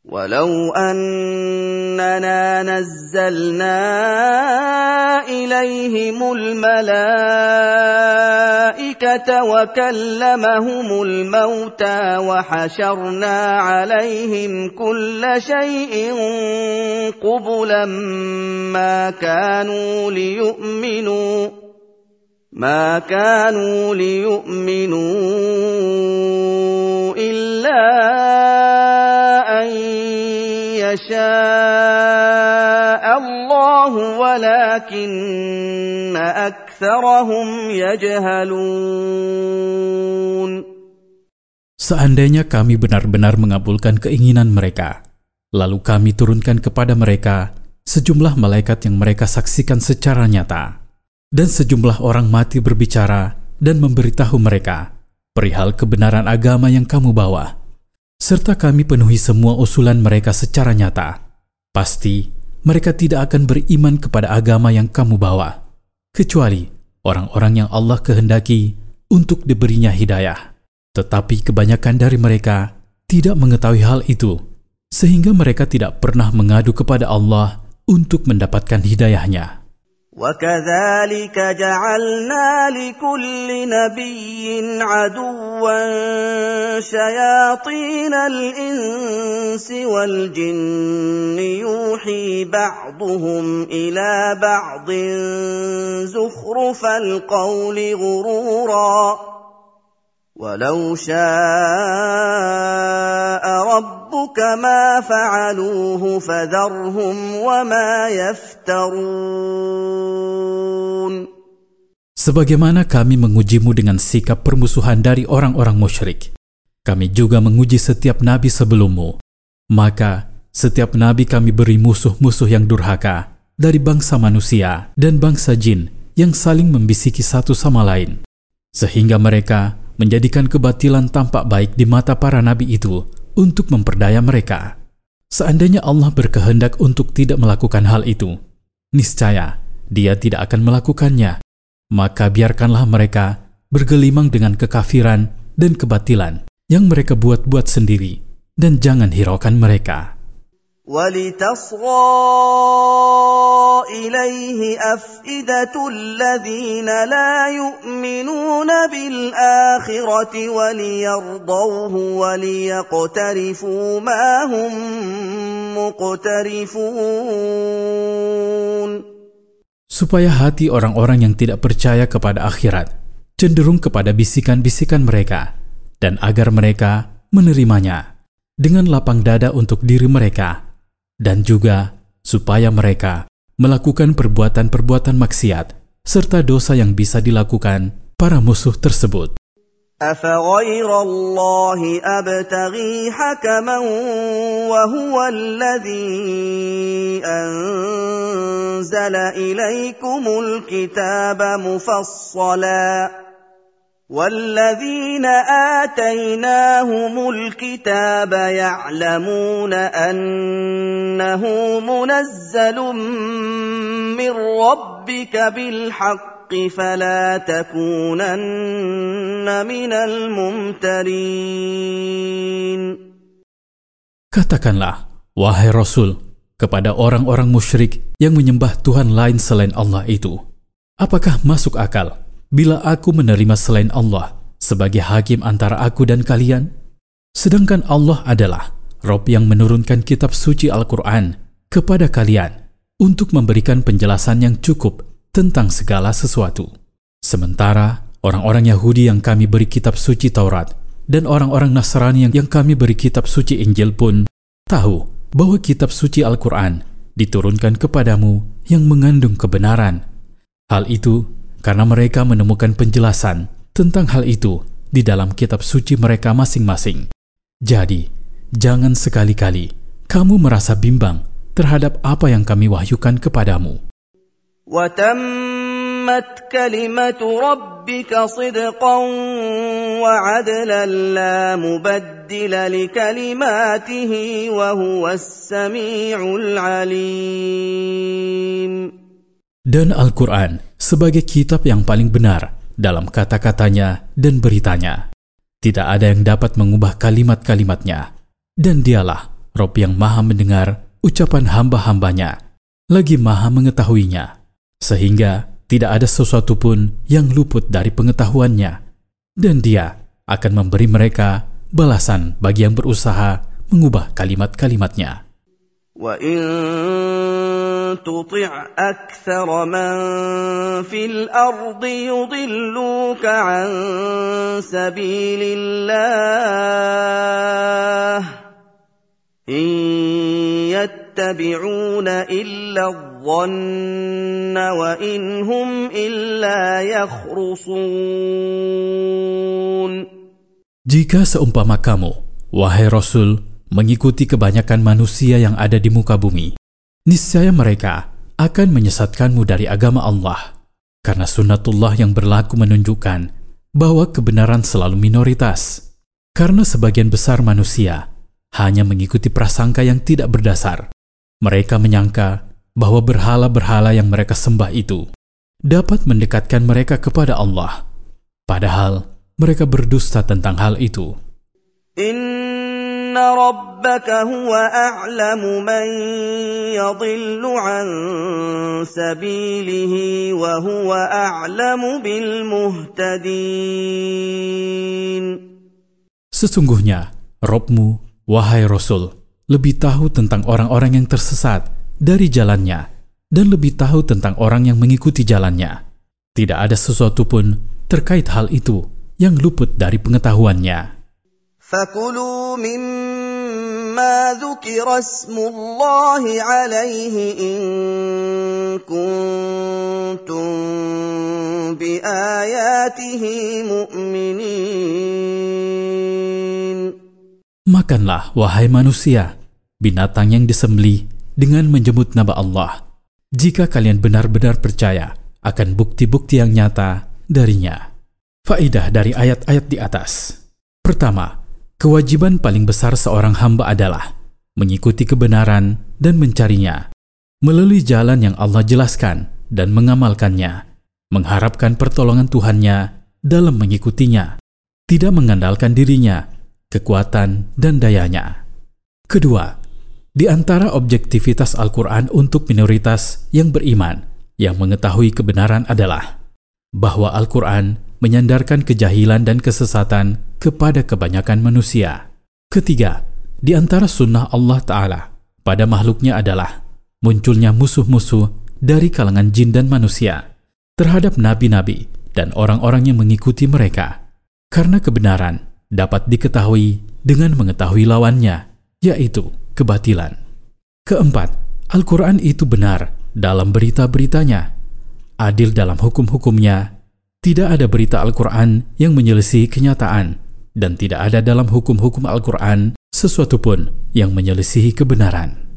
ولو أننا نزلنا إليهم الملائكة وكلمهم الموتى وحشرنا عليهم كل شيء قبلا ما كانوا ليؤمنوا إلا أن يشاء الله ولكن أكثرهم يجهلون. Seandainya kami benar-benar mengabulkan keinginan mereka, lalu kami turunkan kepada mereka sejumlah malaikat yang mereka saksikan secara nyata, dan sejumlah orang mati berbicara dan memberitahu mereka perihal kebenaran agama yang kamu bawa, serta kami penuhi semua usulan mereka secara nyata. Pasti mereka tidak akan beriman kepada agama yang kamu bawa, kecuali orang-orang yang Allah kehendaki untuk diberinya hidayah. Tetapi kebanyakan dari mereka tidak mengetahui hal itu, sehingga mereka tidak pernah mengadu kepada Allah untuk mendapatkan hidayahnya. وَكَذَلِكَ جَعَلْنَا لِكُلِّ نَبِيٍّ عَدُوًّا شَيَاطِينَ الْإِنسِ وَالْجِنِّ يُوحِي بَعْضُهُمْ إِلَى بَعْضٍ زُخْرُفَ الْقَوْلِ غُرُورًا وَلَوْ شَاءَ رَبُّكَ مَا فَعَلُوهُ فَذَرْهُمْ وَمَا يَفْتَرُونَ. Sebagaimana kami mengujimu dengan sikap permusuhan dari orang-orang musyrik, kami juga menguji setiap nabi sebelummu. Maka setiap nabi kami beri musuh-musuh yang durhaka dari bangsa manusia dan bangsa jin yang saling membisiki satu sama lain, sehingga mereka menjadikan kebatilan tampak baik di mata para nabi itu untuk memperdaya mereka. Seandainya Allah berkehendak untuk tidak melakukan hal itu, niscaya Dia tidak akan melakukannya. Maka biarkanlah mereka bergelimang dengan kekafiran dan kebatilan yang mereka buat-buat sendiri, dan jangan hiraukan mereka. وَلِتَصْغَى إِلَيْهِ أَفْئِدَةُ الَّذِينَ لَا يُؤْمِنُونَ بِالْآخِرَةِ وَلِيَرْضَوْهُ وَلِيَقْتَرِفُوا مَا هُمْ مُقْتَرِفُونَ. Supaya hati orang-orang yang tidak percaya kepada akhirat cenderung kepada bisikan-bisikan mereka, dan agar mereka menerimanya dengan lapang dada untuk diri mereka, dan juga supaya mereka melakukan perbuatan-perbuatan maksiat serta dosa yang bisa dilakukan para musuh tersebut. أَفَغَيْرَ اللَّهِ أَبْتَغِي حَكَمًا وَهُوَ الَّذِي أَنزَلَ إِلَيْكُمُ الْكِتَابَ مُفَصَّلًا وَالَّذِينَ آتَيْنَاهُمُ الْكِتَابَ يَعْلَمُونَ أَنَّهُ مُنَزَّلٌ مِّن رَّبِّكَ بِالْحَقِّ فَلَا تَكُونَنَّ مِنَ الْمُمْتَرِينَ. Katakanlah, wahai Rasul, kepada orang-orang musyrik yang menyembah Tuhan lain selain Allah itu, apakah masuk akal bila aku menerima selain Allah sebagai hakim antara aku dan kalian? Sedangkan Allah adalah Rabb yang menurunkan kitab suci Al-Quran kepada kalian untuk memberikan penjelasan yang cukup tentang segala sesuatu. Sementara orang-orang Yahudi yang kami beri kitab suci Taurat dan orang-orang Nasrani yang kami beri kitab suci Injil pun tahu bahwa kitab suci Al-Quran diturunkan kepadamu yang mengandung kebenaran. Hal itu karena mereka menemukan penjelasan tentang hal itu di dalam kitab suci mereka masing-masing. Jadi, jangan sekali-kali kamu merasa bimbang terhadap apa yang kami wahyukan kepadamu. وَتَمَّتْ كَلِمَةُ رَبِّكَ صِدْقًا وَعَدْلًا لَا مُبَدِّلَ لِكَلِمَاتِهِ وَهُوَ السَّمِيعُ الْعَلِيمُ. Dan Al-Quran sebagai kitab yang paling benar dalam kata-katanya dan beritanya. Tidak ada yang dapat mengubah kalimat-kalimatnya, dan Dialah Rob yang maha mendengar ucapan hamba-hambanya, lagi maha mengetahuinya, sehingga tidak ada sesuatu pun yang luput dari pengetahuannya, dan Dia akan memberi mereka balasan bagi yang berusaha mengubah kalimat-kalimatnya. وَإِن تُطِعْ أَكْثَرَ مَن فِي الْأَرْضِ يُضِلُّوكَ عَن سَبِيلِ اللَّهِ إِن يَتَّبِعُونَ إِلَّا الظَّنَّ وَإِنْ هُمْ إِلَّا يَخْرُصُونَ. Jika seumpama kamu, wahai Rasul, mengikuti kebanyakan manusia yang ada di muka bumi, niscaya mereka akan menyesatkanmu dari agama Allah, karena sunnatullah yang berlaku menunjukkan bahwa kebenaran selalu minoritas, karena sebagian besar manusia hanya mengikuti prasangka yang tidak berdasar. Mereka menyangka bahwa berhala-berhala yang mereka sembah itu dapat mendekatkan mereka kepada Allah, padahal mereka berdusta tentang hal itu. Inna rabbaka huwa a'lamu man yadhillu an sabilihi wa huwa a'lamu bil muhtadin. Sesungguhnya Rabb-Mu, wahai Rasul, lebih tahu tentang orang-orang yang tersesat dari jalannya dan lebih tahu tentang orang yang mengikuti jalannya. Tidak ada sesuatu pun terkait hal itu yang luput dari pengetahuannya. فَكُلُوا مِمَّا ذُكِرَ اسْمُ اللَّهِ عَلَيْهِ إِن كُنتُم بِآيَاتِهِ مُؤْمِنِينَ. Makanlah, wahai manusia, binatang yang disembelih dengan menyebut nama Allah, jika kalian benar-benar percaya akan bukti-bukti yang nyata darinya. Faidah dari ayat-ayat di atas. Pertama, kewajiban paling besar seorang hamba adalah mengikuti kebenaran dan mencarinya, melalui jalan yang Allah jelaskan dan mengamalkannya, mengharapkan pertolongan Tuhannya dalam mengikutinya, tidak mengandalkan dirinya, kekuatan dan dayanya. Kedua, di antara objektivitas Al-Quran untuk minoritas yang beriman yang mengetahui kebenaran adalah bahwa Al-Quran menyandarkan kejahilan dan kesesatan kepada kebanyakan manusia. Ketiga, di antara sunnah Allah Ta'ala pada makhluknya adalah munculnya musuh-musuh dari kalangan jin dan manusia terhadap nabi-nabi dan orang-orang yang mengikuti mereka, karena kebenaran dapat diketahui dengan mengetahui lawannya, yaitu kebatilan. Keempat, Al-Quran itu benar dalam berita-beritanya, adil dalam hukum-hukumnya. Tidak ada berita Al-Quran yang menyelisihi kenyataan, dan tidak ada dalam hukum-hukum Al-Quran sesuatu pun yang menyelisihi kebenaran.